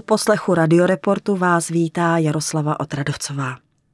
poslechu Radioreportu vás vítá Jaroslava Otradovcová.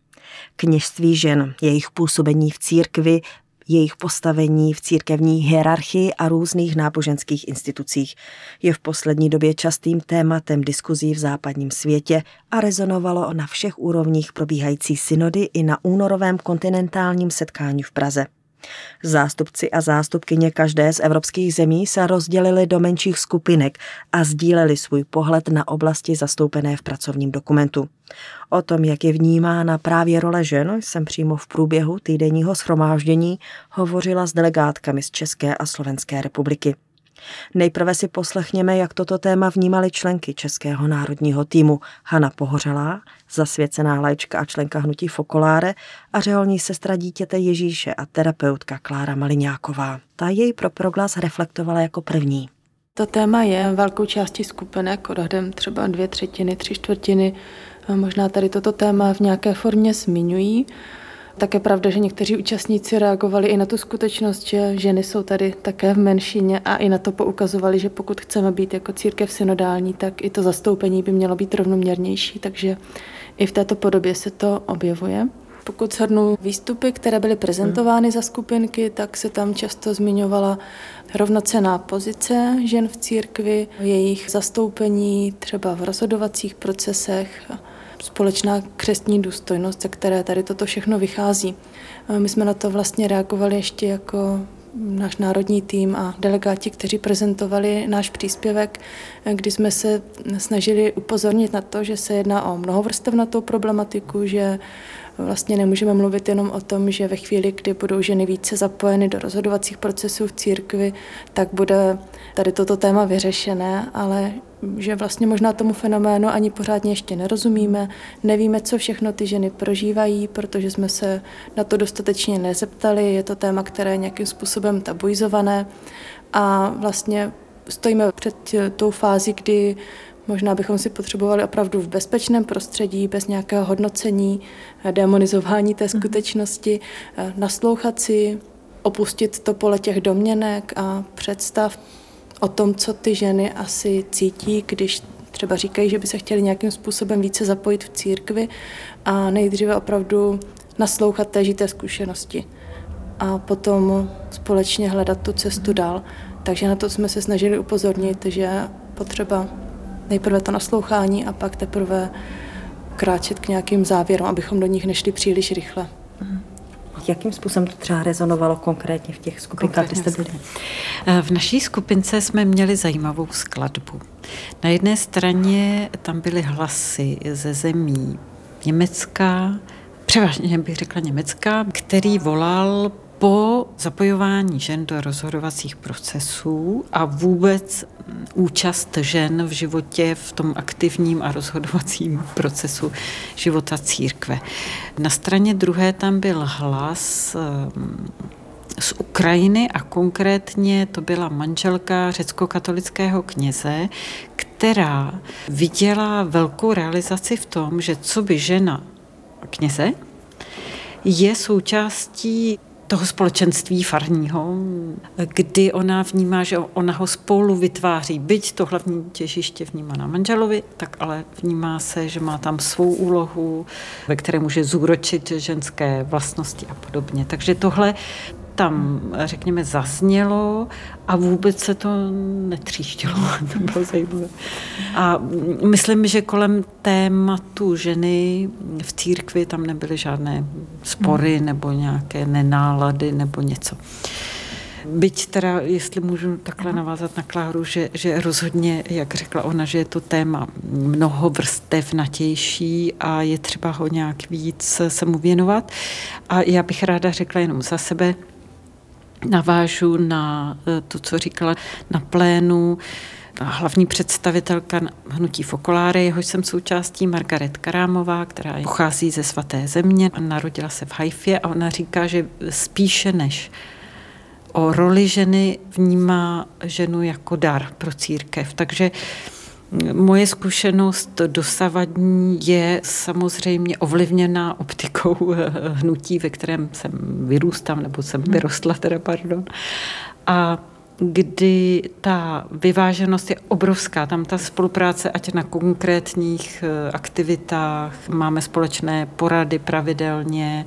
Kněžství žen, jejich působení v církvi, jejich postavení v církevní hierarchii a různých náboženských institucích je v poslední době častým tématem diskuzí v západním světě a rezonovalo na všech úrovních probíhající synody i na únorovém kontinentálním setkání v Praze. Zástupci a zástupkyně každé z evropských zemí se rozdělili do menších skupinek a sdíleli svůj pohled na oblasti zastoupené v pracovním dokumentu. O tom, jak je vnímána právě role žen, jsem přímo v průběhu týdenního shromáždění hovořila s delegátkami z České a Slovenské republiky. Nejprve si poslechněme, jak toto téma vnímaly členky Českého národního týmu Hana Pohořelá, zasvěcená laička a členka hnutí Focolare, a řeholní sestra dítěte Ježíše a terapeutka Klára Maliňáková. Ta jej pro Proglas reflektovala jako první. To téma je velkou částí skupinek, odhadem třeba 2/3, 3/4, možná tady toto téma v nějaké formě zmiňují. Tak je pravda, že někteří účastníci reagovali i na tu skutečnost, že ženy jsou tady také v menšině a i na to poukazovali, že pokud chceme být jako církev synodální, tak i to zastoupení by mělo být rovnoměrnější, takže i v této podobě se to objevuje. Pokud shrnu výstupy, které byly prezentovány za skupinky, tak se tam často zmiňovala rovnocenná pozice žen v církvi, jejich zastoupení třeba v rozhodovacích procesech, společná křestní důstojnost, ze které tady toto všechno vychází. My jsme na to vlastně reagovali ještě jako náš národní tým a delegáti, kteří prezentovali náš příspěvek, kdy jsme se snažili upozornit na to, že se jedná o mnohovrstevnatou problematiku, že vlastně nemůžeme mluvit jenom o tom, že ve chvíli, kdy budou ženy více zapojeny do rozhodovacích procesů v církvi, tak bude tady toto téma vyřešené, ale že vlastně možná tomu fenoménu ani pořádně ještě nerozumíme, nevíme, co všechno ty ženy prožívají, protože jsme se na to dostatečně nezeptali, je to téma, které je nějakým způsobem tabuizované a vlastně stojíme před tou fází, kdy možná bychom si potřebovali opravdu v bezpečném prostředí, bez nějakého hodnocení, demonizování té skutečnosti, naslouchat si, opustit to pole těch domněnek a představ o tom, co ty ženy asi cítí, když třeba říkají, že by se chtěli nějakým způsobem více zapojit v církvi a nejdříve opravdu naslouchat té žité zkušenosti a potom společně hledat tu cestu dál. Takže na to jsme se snažili upozornit, že potřeba nejprve to naslouchání a pak teprve kráčet k nějakým závěrům, abychom do nich nešli příliš rychle. Jakým způsobem to třeba rezonovalo konkrétně v těch skupinkách, kde jste byli? V naší skupince jsme měli zajímavou skladbu. Na jedné straně tam byly hlasy ze zemí Německa, převážně bych řekla Německa, který volal po zapojování žen do rozhodovacích procesů a vůbec účast žen v životě, v tom aktivním a rozhodovacím procesu života církve. Na straně druhé tam byl hlas z Ukrajiny a konkrétně to byla manželka řeckokatolického kněze, která viděla velkou realizaci v tom, že co by žena kněze je součástí toho společenství farního, kdy ona vnímá, že ona ho spolu vytváří. Byť to hlavní těžiště vnímá na manželovi, tak ale vnímá se, že má tam svou úlohu, ve které může zúročit ženské vlastnosti a podobně. Takže tohle tam, řekněme, zaznělo a vůbec se to netříštilo. To bylo zajímavé. A myslím, že kolem tématu ženy v církvi tam nebyly žádné spory nebo nějaké nenálady nebo něco. Byť teda, jestli můžu takhle navázat na Kláru, že rozhodně, jak řekla ona, že je to téma mnohovrstevnatější a je třeba ho nějak víc se mu věnovat. A já bych ráda řekla jenom za sebe, navážu na to, co říkala na plénu hlavní představitelka hnutí Focolare, jehož jsem součástí, Margaret Karámová, která pochází ze Svaté země, narodila se v Haifě a ona říká, že spíše než o roli ženy vnímá ženu jako dar pro církev. Takže moje zkušenost dosavadní je samozřejmě ovlivněná optikou hnutí, ve kterém jsem vyrůstala, nebo jsem vyrostla, A kdy ta vyváženost je obrovská. Tam ta spolupráce, ať na konkrétních aktivitách, máme společné porady pravidelně,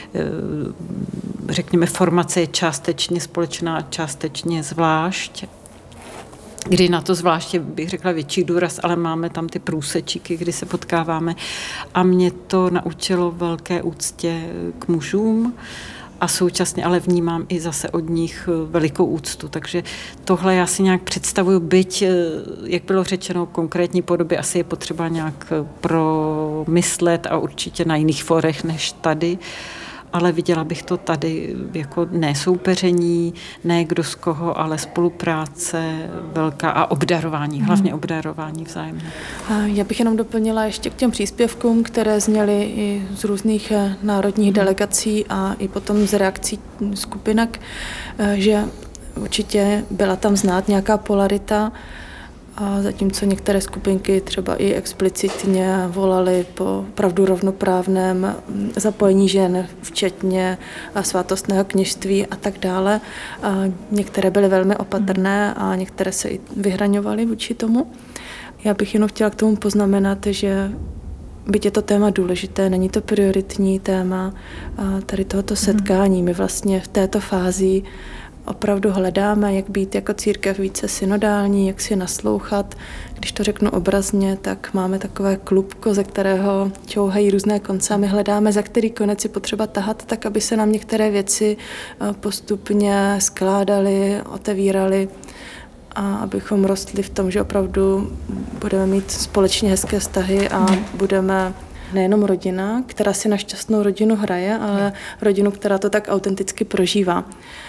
řekněme, formace je částečně společná, částečně zvlášť, kdy na to zvláště bych řekla větší důraz, ale máme tam ty průsečíky, kdy se potkáváme a mě to naučilo velké úctě k mužům a současně ale vnímám i zase od nich velikou úctu. Takže tohle já si nějak představuju, byť, jak bylo řečeno, konkrétní podoby asi je potřeba nějak promyslet a určitě na jiných forech než tady, ale viděla bych to tady jako ne soupeření, ne kdo z koho, ale spolupráce velká a obdarování, hlavně obdarování vzájemné. Já bych jenom doplnila ještě k těm příspěvkům, které zněly i z různých národních delegací a i potom z reakcí skupinek, že určitě byla tam znát nějaká polarita, a zatímco některé skupinky třeba i explicitně volaly po opravdu rovnoprávném zapojení žen, včetně svátostného kněžství a tak dále. A některé byly velmi opatrné a některé se i vyhraňovaly vůči tomu. Já bych jenom chtěla k tomu poznamenat, že byť je to téma důležité, není to prioritní téma tady tohoto setkání. My vlastně v této fázi opravdu hledáme, jak být jako církev více synodální, jak si naslouchat. Když to řeknu obrazně, tak máme takové klubko, ze kterého čouhají různé konce a my hledáme, za který konec je potřeba tahat, tak aby se nám některé věci postupně skládaly, otevíraly a abychom rostli v tom, že opravdu budeme mít společně hezké vztahy a budeme nejenom rodina, která si na šťastnou rodinu hraje, ale rodinu, která to tak autenticky prožívá.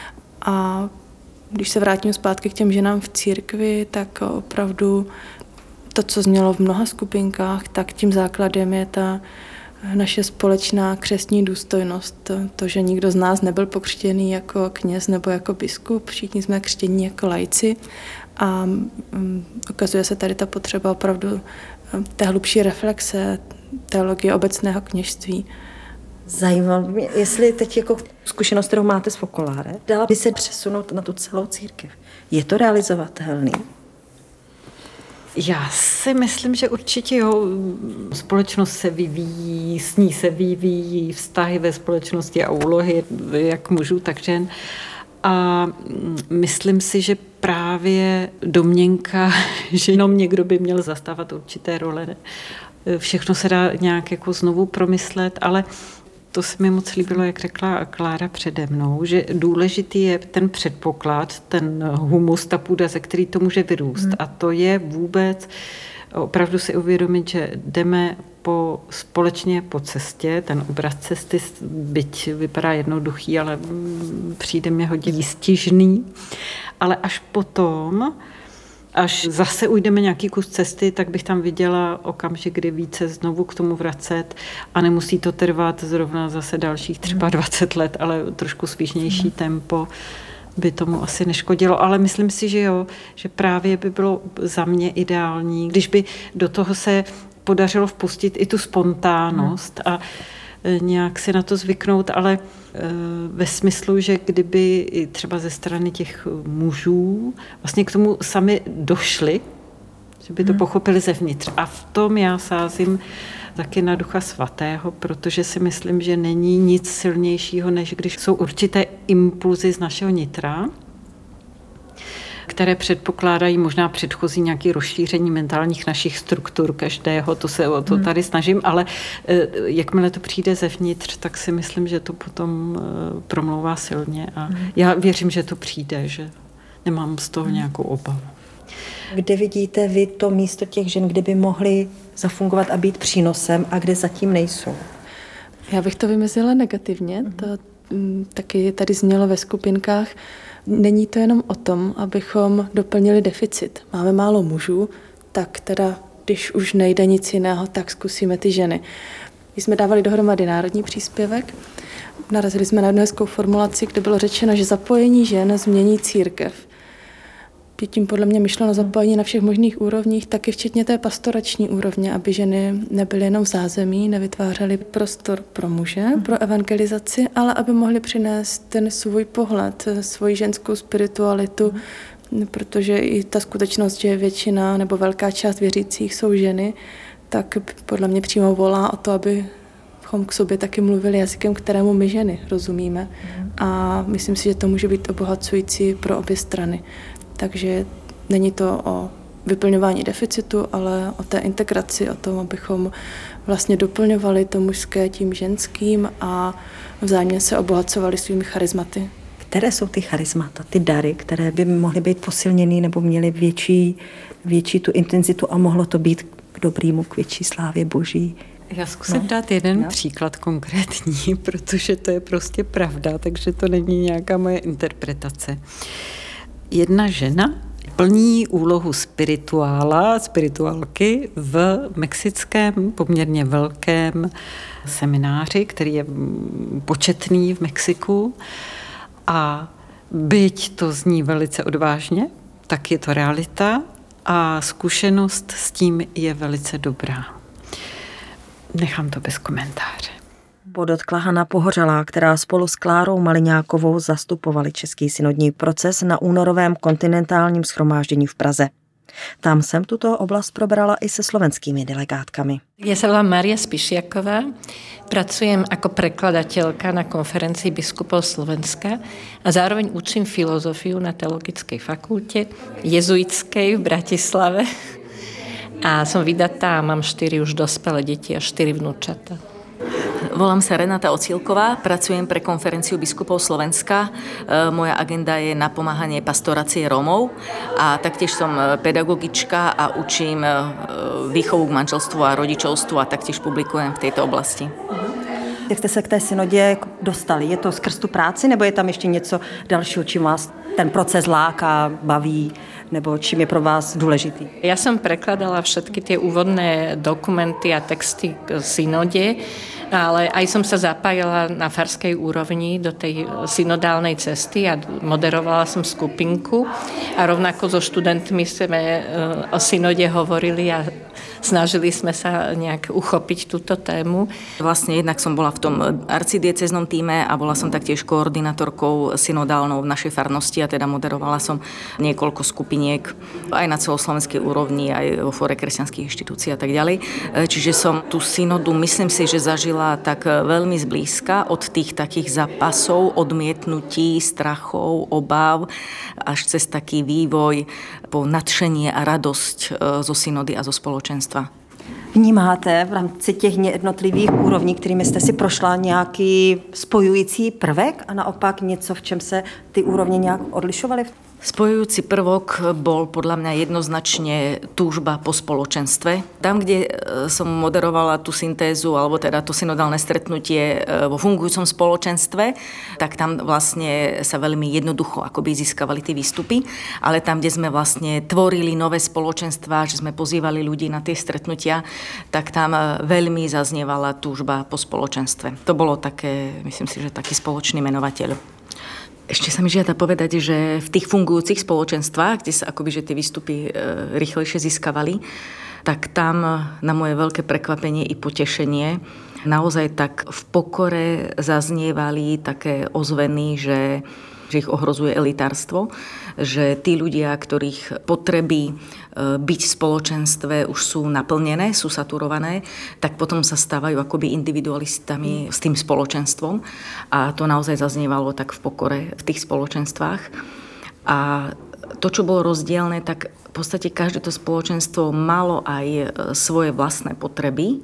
A když se vrátím zpátky k těm ženám v církvi, tak opravdu to, co znělo v mnoha skupinkách, tak tím základem je ta naše společná křestní důstojnost. To, že nikdo z nás nebyl pokřtěný jako kněz nebo jako biskup, všichni jsme křtění jako laici a ukazuje se tady ta potřeba opravdu té hlubší reflexe, teologie obecného kněžství. Zajímalo mě, jestli teď jako zkušenost, kterou máte z Focolare, dala by se přesunout na tu celou církev. Je to realizovatelný? Já si myslím, že určitě jo. Společnost se vyvíjí, s ní se vyvíjí vztahy ve společnosti a úlohy jak mužů, tak žen. A myslím si, že právě domněnka, že jenom někdo by měl zastávat určité role. Všechno se dá nějak jako znovu promyslet, ale to se mi moc líbilo, jak řekla Klára přede mnou, že důležitý je ten předpoklad, ten humus, ta půda, ze který to může vyrůst. A to je vůbec opravdu si uvědomit, že jdeme společně po cestě, ten obraz cesty, byť vypadá jednoduchý, ale přijde mi hodně stížný, ale až potom, až zase ujdeme nějaký kus cesty, tak bych tam viděla okamžik, kdy více znovu k tomu vracet a nemusí to trvat zrovna zase dalších třeba 20 let, ale trošku svížnější tempo by tomu asi neškodilo. Ale myslím si, že jo, že právě by bylo za mě ideální, když by do toho se podařilo vpustit i tu spontánnost a nějak si na to zvyknout, ale ve smyslu, že kdyby i třeba ze strany těch mužů vlastně k tomu sami došli, že by to pochopili zevnitř. A v tom já sázím taky na Ducha Svatého, protože si myslím, že není nic silnějšího, než když jsou určité impulzy z našeho nitra, které předpokládají možná předchozí nějaké rozšíření mentálních našich struktur každého, to se o to tady snažím, ale jakmile to přijde zevnitř, tak si myslím, že to potom promlouvá silně a já věřím, že to přijde, že nemám z toho nějakou obavu. Kde vidíte vy to místo těch žen, kde by mohly zafungovat a být přínosem a kde zatím nejsou? Já bych to vymezila negativně, to taky tady znělo ve skupinkách. Není to jenom o tom, abychom doplnili deficit. Máme málo mužů, tak teda, když už nejde nic jiného, tak zkusíme ty ženy. Když jsme dávali dohromady národní příspěvek, narazili jsme na jednu hezkou formulaci, kde bylo řečeno, že zapojení žen změní církev. je tím podle mě myšleno zapojení na všech možných úrovních, taky včetně té pastorační úrovně, aby ženy nebyly jenom v zázemí, nevytvářely prostor pro muže, pro evangelizaci, ale aby mohly přinést ten svůj pohled, svoji ženskou spiritualitu, protože i ta skutečnost, že většina nebo velká část věřících jsou ženy, tak podle mě přímo volá o to, abychom k sobě taky mluvili jazykem, kterému my ženy rozumíme. A myslím si, že to může být obohacující pro obě strany. Takže není to o vyplňování deficitu, ale o té integraci, o tom, abychom vlastně doplňovali to mužské tím ženským a vzájemně se obohacovali svými charizmaty. Které jsou ty charizmata, ty dary, které by mohly být posilněny nebo měly větší tu intenzitu a mohlo to být k dobrýmu, k větší slávě Boží? Já zkusím dát jeden příklad konkrétní, protože to je prostě pravda, takže to není nějaká moje interpretace. Jedna žena plní úlohu spirituálky v mexickém poměrně velkém semináři, který je početný v Mexiku. A byť to zní velice odvážně, tak je to realita a zkušenost s tím je velice dobrá. Nechám to bez komentáře. Podotkla Hana Pohořelá, která spolu s Klárou Maliňákovou zastupovali český synodní proces na únorovém kontinentálním shromáždění v Praze. Tam jsem tuto oblast probrala i se slovenskými delegátkami. Ja sa volám Mária Spišiaková, pracujem ako prekladateľka na konferencii biskupov Slovenska a zároveň učím filozofiu na Teologickej fakulte jezuitskej v Bratislave. A som vydatá a mám 4 už dospelé deti a 4 vnúčata. Volám sa Renata Ocílková, pracujem pre konferenciu biskupov Slovenska. Moja agenda je napomáhanie pastorácie Rómov a taktiež som pedagogička a učím výchovu k manželstvu a rodičovstvu a taktiež publikujem v tejto oblasti. Jak jste se k té synodě dostali? Je to skrz tu práci, nebo je tam ještě něco dalšího, čím vás ten proces láká, baví, nebo čím je pro vás důležitý? Ja som prekladala všetky tie úvodné dokumenty a texty k synode, ale aj som sa zapájala na farskej úrovni do tej synodálnej cesty a moderovala som skupinku a rovnako so študentmi sme o synode hovorili a snažili sme sa nejak uchopiť túto tému. Vlastne jednak som bola v tom arcidieceznom tíme a bola som taktiež koordinátorkou synodálnou v našej farnosti a teda moderovala som niekoľko skupiniek aj na celoslovenskej úrovni, aj vo fóre kresťanských inštitúcií a tak ďalej. Čiže som tú synodu, myslím si, že zažila tak veľmi zblízka od tých takých zápasov, odmietnutí, strachov, obáv, až cez taký vývoj po nadšenie a radosť zo synody a zo spoločenstva. Vnímáte v rámci těch jednotlivých úrovní, kterými jste si prošla, nějaký spojující prvek a naopak něco, v čem se ty úrovně nějak odlišovaly? Spojujúci prvok bol podľa mňa jednoznačne túžba po spoločenstve. Tam, kde som moderovala tú syntézu, alebo teda to synodálne stretnutie vo fungujúcom spoločenstve, tak tam vlastne sa veľmi jednoducho akoby získavali tie výstupy, ale tam, kde sme vlastne tvorili nové spoločenstva, že sme pozývali ľudí na tie stretnutia, tak tam veľmi zaznievala túžba po spoločenstve. To bolo také, myslím si, že taký spoločný menovateľ. Ešte sa mi žiada povedať, že v tých fungujúcich spoločenstvách, kde sa akoby že tie výstupy rýchlejšie získavali, tak tam na moje veľké prekvapenie i potešenie naozaj tak v pokore zaznievali také ozveny, že ich ohrozuje elitárstvo, že tí ľudia, ktorých potreby byť v spoločenstve už sú naplnené, sú saturované, tak potom sa stávajú akoby individualistami s tým spoločenstvom. A to naozaj zaznievalo tak v pokore v tých spoločenstvách. A to, čo bolo rozdielne, tak v podstate každé to spoločenstvo malo aj svoje vlastné potreby,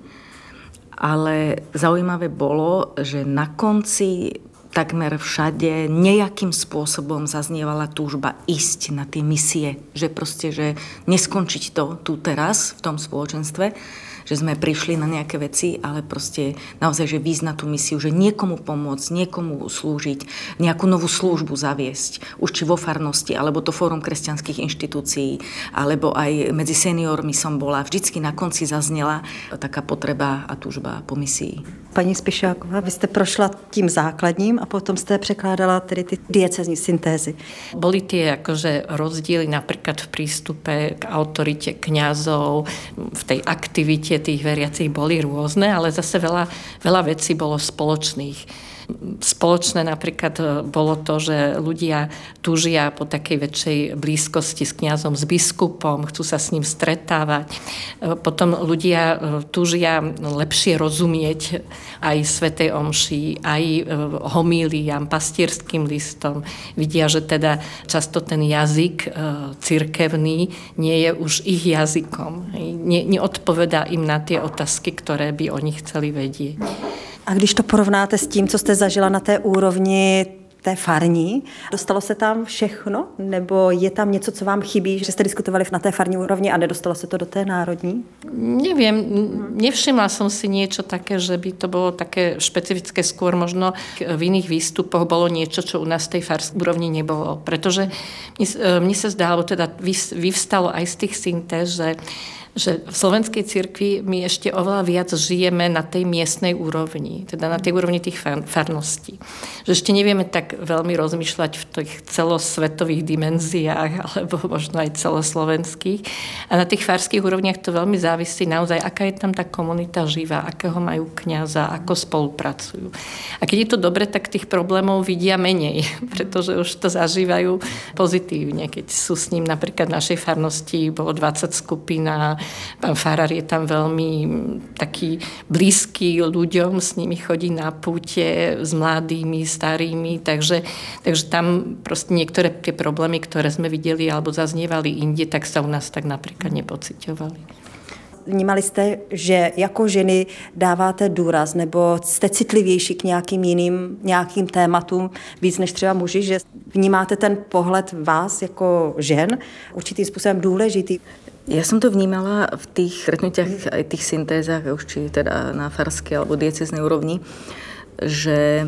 ale zaujímavé bolo, že na konci takmer všade nejakým spôsobom zaznievala túžba ísť na tie misie. Že proste, že neskončiť to tu teraz v tom spoločenstve, že sme prišli na nejaké veci, ale proste naozaj, že výjsť na tú misiu, že niekomu pomôcť, niekomu slúžiť, nejakú novú službu zaviesť, už či vo farnosti, alebo to Fórum kresťanských inštitúcií, alebo aj medzi seniormi som bola. Vždycky na konci zaznela taká potreba a túžba po misii. Paní Spišáková, vy jste prošla tím základním a potom jste překládala tedy ty diecézní syntézy. Boli tie akože rozdiely napríklad v prístupe k autorite kňazov, v tej aktivite tých veriacich boli rôzne, ale zase veľa vecí bolo spoločných. Spoločné napríklad bolo to, že ľudia túžia po takej väčšej blízkosti s kňazom, s biskupom, chcú sa s ním stretávať. Potom ľudia túžia lepšie rozumieť aj svätej omši, aj homíliám, pastierským listom. Vidia, že teda často ten jazyk cirkevný nie je už ich jazykom. Neodpovedá im na tie otázky, ktoré by oni chceli vedieť. A když to porovnáte s tím, co jste zažila na té úrovni té farní, dostalo se tam všechno? Nebo je tam něco, co vám chybí, že jste diskutovali na té farní úrovni a nedostalo se to do té národní? Neviem, nevšimla som si niečo také, že by to bolo také špecifické, skôr možno v iných výstupoch bolo niečo, čo u nás v tej farskej úrovni nebolo. Pretože mne sa zdá, alebo teda vyvstalo aj z tých syntéz, že v slovenskej cirkvi my ešte oveľa viac žijeme na tej miestnej úrovni, teda na tej úrovni tých farností. Že ešte nevieme tak veľmi rozmýšľať v tých celosvetových dimenziách, alebo možno aj celoslovenských. A na tých farských úrovniach to veľmi závisí naozaj, aká je tam tá komunita živá, akého majú kňaza, ako spolupracujú. A keď je to dobre, tak tých problémov vidia menej, pretože už to zažívajú pozitívne. Keď sú s ním napríklad v našej farnosti, bolo 20 skupín a pán farár je tam veľmi taký blízky ľuďom, s nimi chodí na púte s mladými, starými, takže tam proste niektoré tie problémy, ktoré sme videli alebo zaznievali inde, tak sa u nás tak napríklad nepociťovali. Vnímali jste, že jako ženy dáváte důraz nebo jste citlivější k nějakým tématům víc než třeba muži, že vnímáte ten pohled vás jako žen určitým způsobem důležitý? Ja som to vnímala v tých stretnutiach aj tých syntézach, už či teda na farskej alebo diecéznej úrovni, že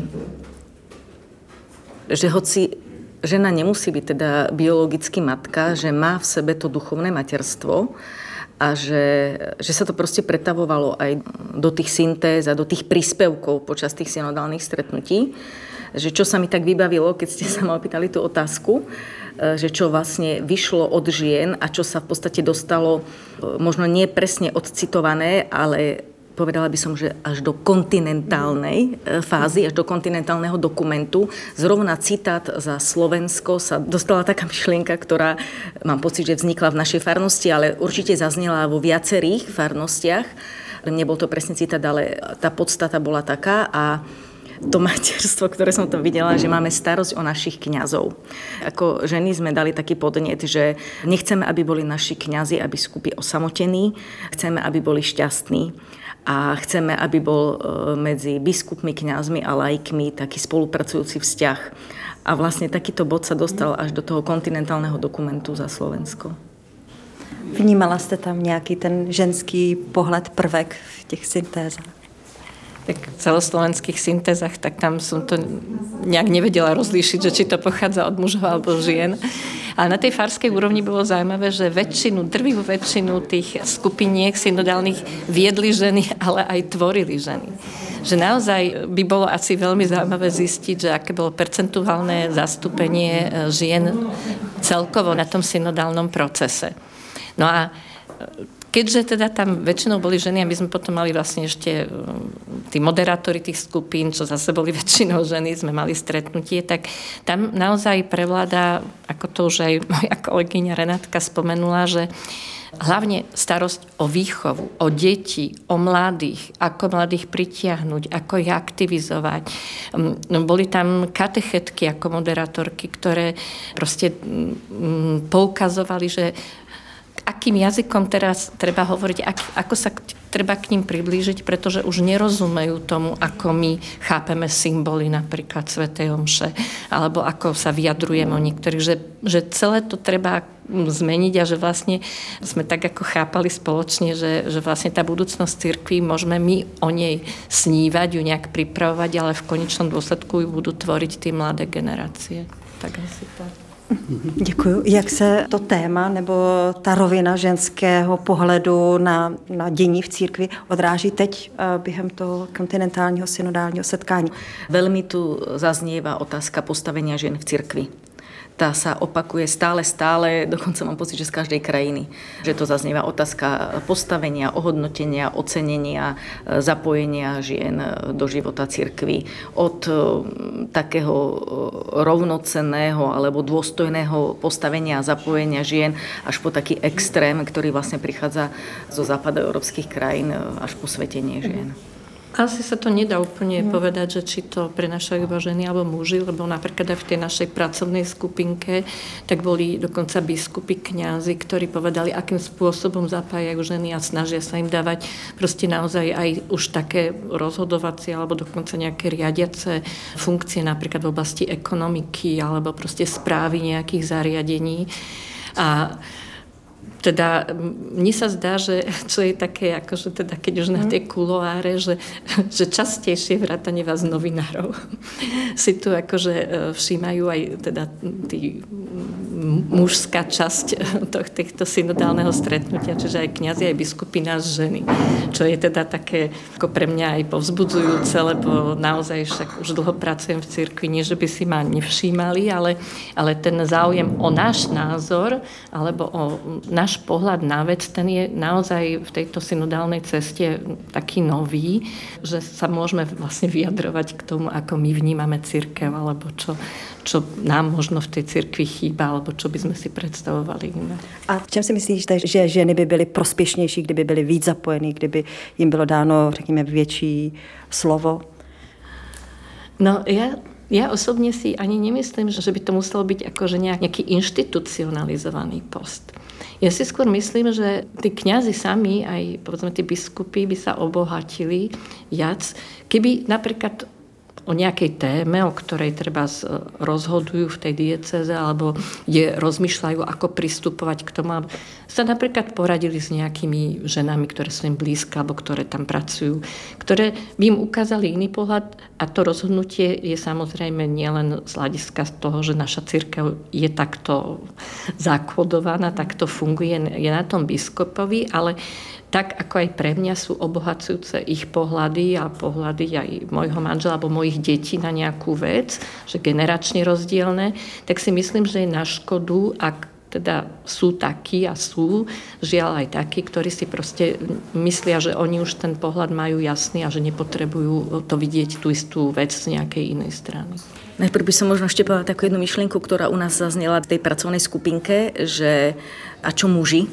hoci žena nemusí byť teda biologicky matka, že má v sebe to duchovné materstvo a že sa to proste pretavovalo aj do tých syntéz a do tých príspevkov počas tých synodálnych stretnutí. Že čo sa mi tak vybavilo, keď ste sa ma opýtali tú otázku, že čo vlastne vyšlo od žien a čo sa v podstate dostalo, možno nie presne odcitované, ale povedala by som, že až do kontinentálnej fázy, až do kontinentálneho dokumentu. Zrovna citát za Slovensko sa dostala taká myšlienka, ktorá mám pocit, že vznikla v našej farnosti, ale určite zaznela vo viacerých farnostiach. Nebol to presne citát, ale tá podstata bola taká a to materstvo, ktoré som tam videla, že máme starosť o našich kňazov. Ako ženy sme dali taký podnet, že nechceme, aby boli naši kňazi a biskupy osamotení, chceme, aby boli šťastní a chceme, aby bol medzi biskupmi, kňazmi a laikmi taký spolupracujúci vzťah. A vlastne takýto bod sa dostal až do toho kontinentálneho dokumentu za Slovensko. Vnímala jste tam nějaký ten ženský pohled, prvek v těch syntézách? Tak v celoslovenských syntézach, tak tam som to nejak nevedela rozlíšiť, že či to pochádza od mužov alebo žien. Ale na tej farskej úrovni bolo zaujímavé, že drvivú väčšinu tých skupiniek synodálnych viedli ženy, ale aj tvorili ženy. Že naozaj by bolo asi veľmi zaujímavé zistiť, že aké bolo percentuálne zastúpenie žien celkovo na tom synodálnom procese. No a keďže teda tam väčšinou boli ženy a my sme potom mali vlastne ešte tí moderátori tých skupín, čo zase boli väčšinou ženy, sme mali stretnutie, tak tam naozaj prevláda, ako to už aj moja kolegyňa Renátka spomenula, že hlavne starosť o výchovu, o deti, o mladých, ako mladých pritiahnuť, ako ich aktivizovať. Boli tam katechetky ako moderátorky, ktoré proste poukazovali, že akým jazykom teraz treba hovoriť, ako sa treba k ním priblížiť, pretože už nerozumejú tomu, ako my chápeme symboly napríklad svätej omše, alebo ako sa vyjadrujeme o niektorých, že celé to treba zmeniť a že vlastne sme tak ako chápali spoločne, že vlastne tá budúcnosť cirkvi, môžeme my o nej snívať, ju nejak pripravovať, ale v konečnom dôsledku ju budú tvoriť tie mladé generácie. Tak asi tak. Děkuju. Jak se to téma nebo ta rovina ženského pohledu na dění v církvi odráží teď během toho kontinentálního synodálního setkání? Veľmi tu zaznieva otázka postavenia žien v cirkvi. Tá sa opakuje stále, dokonca mám pocit, že z každej krajiny. Že to zaznieva otázka postavenia, ohodnotenia, ocenenia, zapojenia žien do života cirkvi. Od takého rovnocenného alebo dôstojného postavenia a zapojenia žien až po taký extrém, ktorý vlastne prichádza zo západoeurópskych krajín, až po svetenie žien. Asi sa to nedá úplne povedať, že či to prenášajú iba ženy alebo muži, lebo napríklad aj v tej našej pracovnej skupinke tak boli dokonca biskupy, kňazi, ktorí povedali, akým spôsobom zapájajú ženy a snažia sa im dávať proste naozaj aj už také rozhodovacie alebo dokonca nejaké riadiace funkcie napríklad v oblasti ekonomiky alebo proste správy nejakých zariadení. A teda mne sa zdá, že čo je také, akože teda keď už na tie kuloáre, že častejšie vrátane vás novinárov si tu akože všímajú aj teda tí mužská časť tohto synodálneho stretnutia, čiže aj kňazi, aj biskupy nás ženy. Čo je teda také ako pre mňa aj povzbudzujúce, lebo naozaj však už dlho pracujem v cirkvi, nie že by si ma nevšímali, ale ten záujem o náš názor alebo o náš pohľad na vec, ten je naozaj v tejto synodálnej ceste taký nový, že sa môžeme vlastne vyjadrovať k tomu, ako my vnímame cirkev, alebo čo nám možno v tej cirkvi chýba, alebo čo by sme si predstavovali iné. A v čem si myslíš, že ženy by byly prospěšnější, kdyby byly víc zapojeny, kdyby jim bylo dáno, řekněme, větší slovo? No, ja osobne si ani nemyslím, že by to muselo byť akože nejaký inštitucionalizovaný post. Ja si skôr myslím, že tí kňazi sami, aj povedzme tí biskupy by sa obohatili viac, keby napríklad o nejakej téme, o ktorej treba rozhodujú v tej diecéze alebo kde rozmýšľajú, ako pristupovať k tomu, sa napríklad poradili s nejakými ženami, ktoré sú im blízke alebo ktoré tam pracujú, ktoré by im ukázali iný pohľad a to rozhodnutie je samozrejme nielen z hľadiska toho, že naša cirkev je takto zakodovaná, takto funguje, je na tom biskupovi, ale tak ako aj pre mňa sú obohacujúce ich pohľady a pohľady aj môjho manžela alebo mojich detí na nejakú vec, že generačne rozdielne, tak si myslím, že je na škodu, ak teda sú takí a sú, žiaľ aj takí, ktorí si proste myslia, že oni už ten pohľad majú jasný a že nepotrebujú to vidieť tú istú vec z nejakej inej strany. Najprv by som možno ešte povedala takú jednu myšlienku, ktorá u nás zaznela v tej pracovnej skupinke, že a čo muži?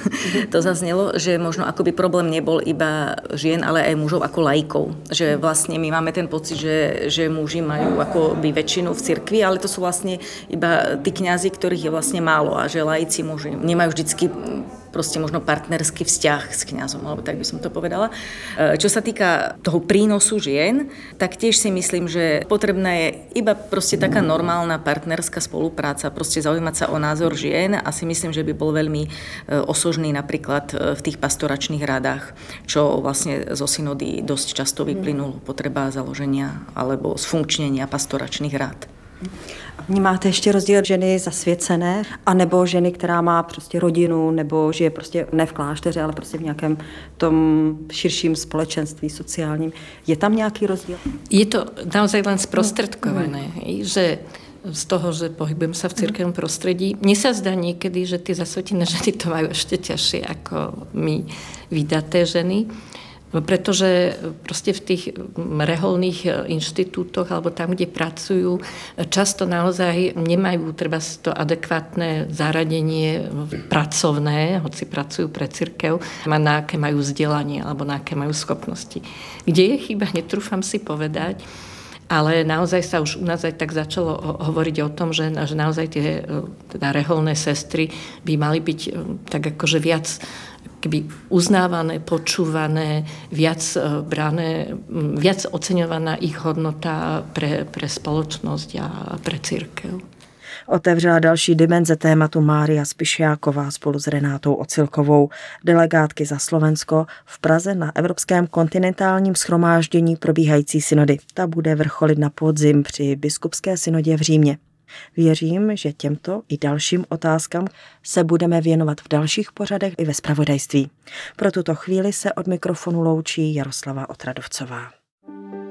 To zaznelo, že možno akoby problém nebol iba žien, ale aj mužov ako laikov. Že vlastne my máme ten pocit, že muži majú akoby väčšinu v cirkvi, ale to sú vlastne iba tí kňazi, ktorých je vlastne málo a že laici muži nemajú vždycky proste možno partnerský vzťah s kňazom, alebo tak by som to povedala. Čo sa týka toho prínosu žien, tak tiež si myslím, že potrebná je iba proste taká normálna partnerská spolupráca, proste zaujímať sa o názor žien a si myslím, že by bol veľmi osožný napríklad v tých pastoračných radách, čo vlastne zo synody dosť často vyplynulo potreba založenia alebo sfunkčnenia pastoračných rád. Vnímáte ještě rozdíl ženy zasvěcené, anebo ženy, která má prostě rodinu, nebo žije prostě ne v klášteře, ale prostě v nějakém tom širším společenství sociálním. Je tam nějaký rozdíl? Je to naozaj len sprostredkované, že z toho, že pohybujem sa v cirkevnom prostredí. Mne sa zdá niekedy, že tie zasvetené ženy to majú ešte ťažšie ako my vydaté ženy. Pretože proste v tých reholných inštitútoch alebo tam, kde pracujú, často naozaj nemajú treba to adekvátne zaradenie pracovné, hoci pracujú pre cirkev, na aké majú vzdelanie alebo na aké majú schopnosti. Kde je chyba, netrúfam si povedať, ale naozaj sa už u nás aj tak začalo hovoriť o tom, že naozaj tie teda reholné sestry by mali byť tak akože viac keby uznávané, počúvané, viac oceňovaná ich hodnota pre spoločnosť a pre cirkev. Otevřela další dimenze tématu Mária Spišiáková spolu s Renátou Ocilkovou, delegátky za Slovensko v Praze na Evropském kontinentálním shromáždění probíhající synody. Ta bude vrcholit na podzim při biskupské synodě v Římě. Věřím, že těmto i dalším otázkám se budeme věnovat v dalších pořadech i ve zpravodajství. Pro tuto chvíli se od mikrofonu loučí Jaroslava Otradovcová.